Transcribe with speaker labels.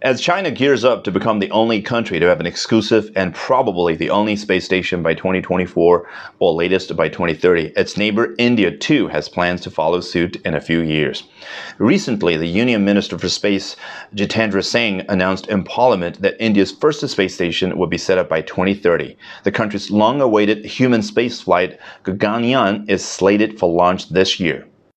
Speaker 1: As China gears up to become the only country to have an exclusive and probably the only space station by 2024 or latest by 2030, its neighbor India too has plans to follow suit in a few years. Recently, the Union Minister for Space, Jitendra Singh, announced in Parliament that India's first space station would be set up by 2030. The country's long-awaited human spaceflight, Gaganyaan, is slated for launch this year.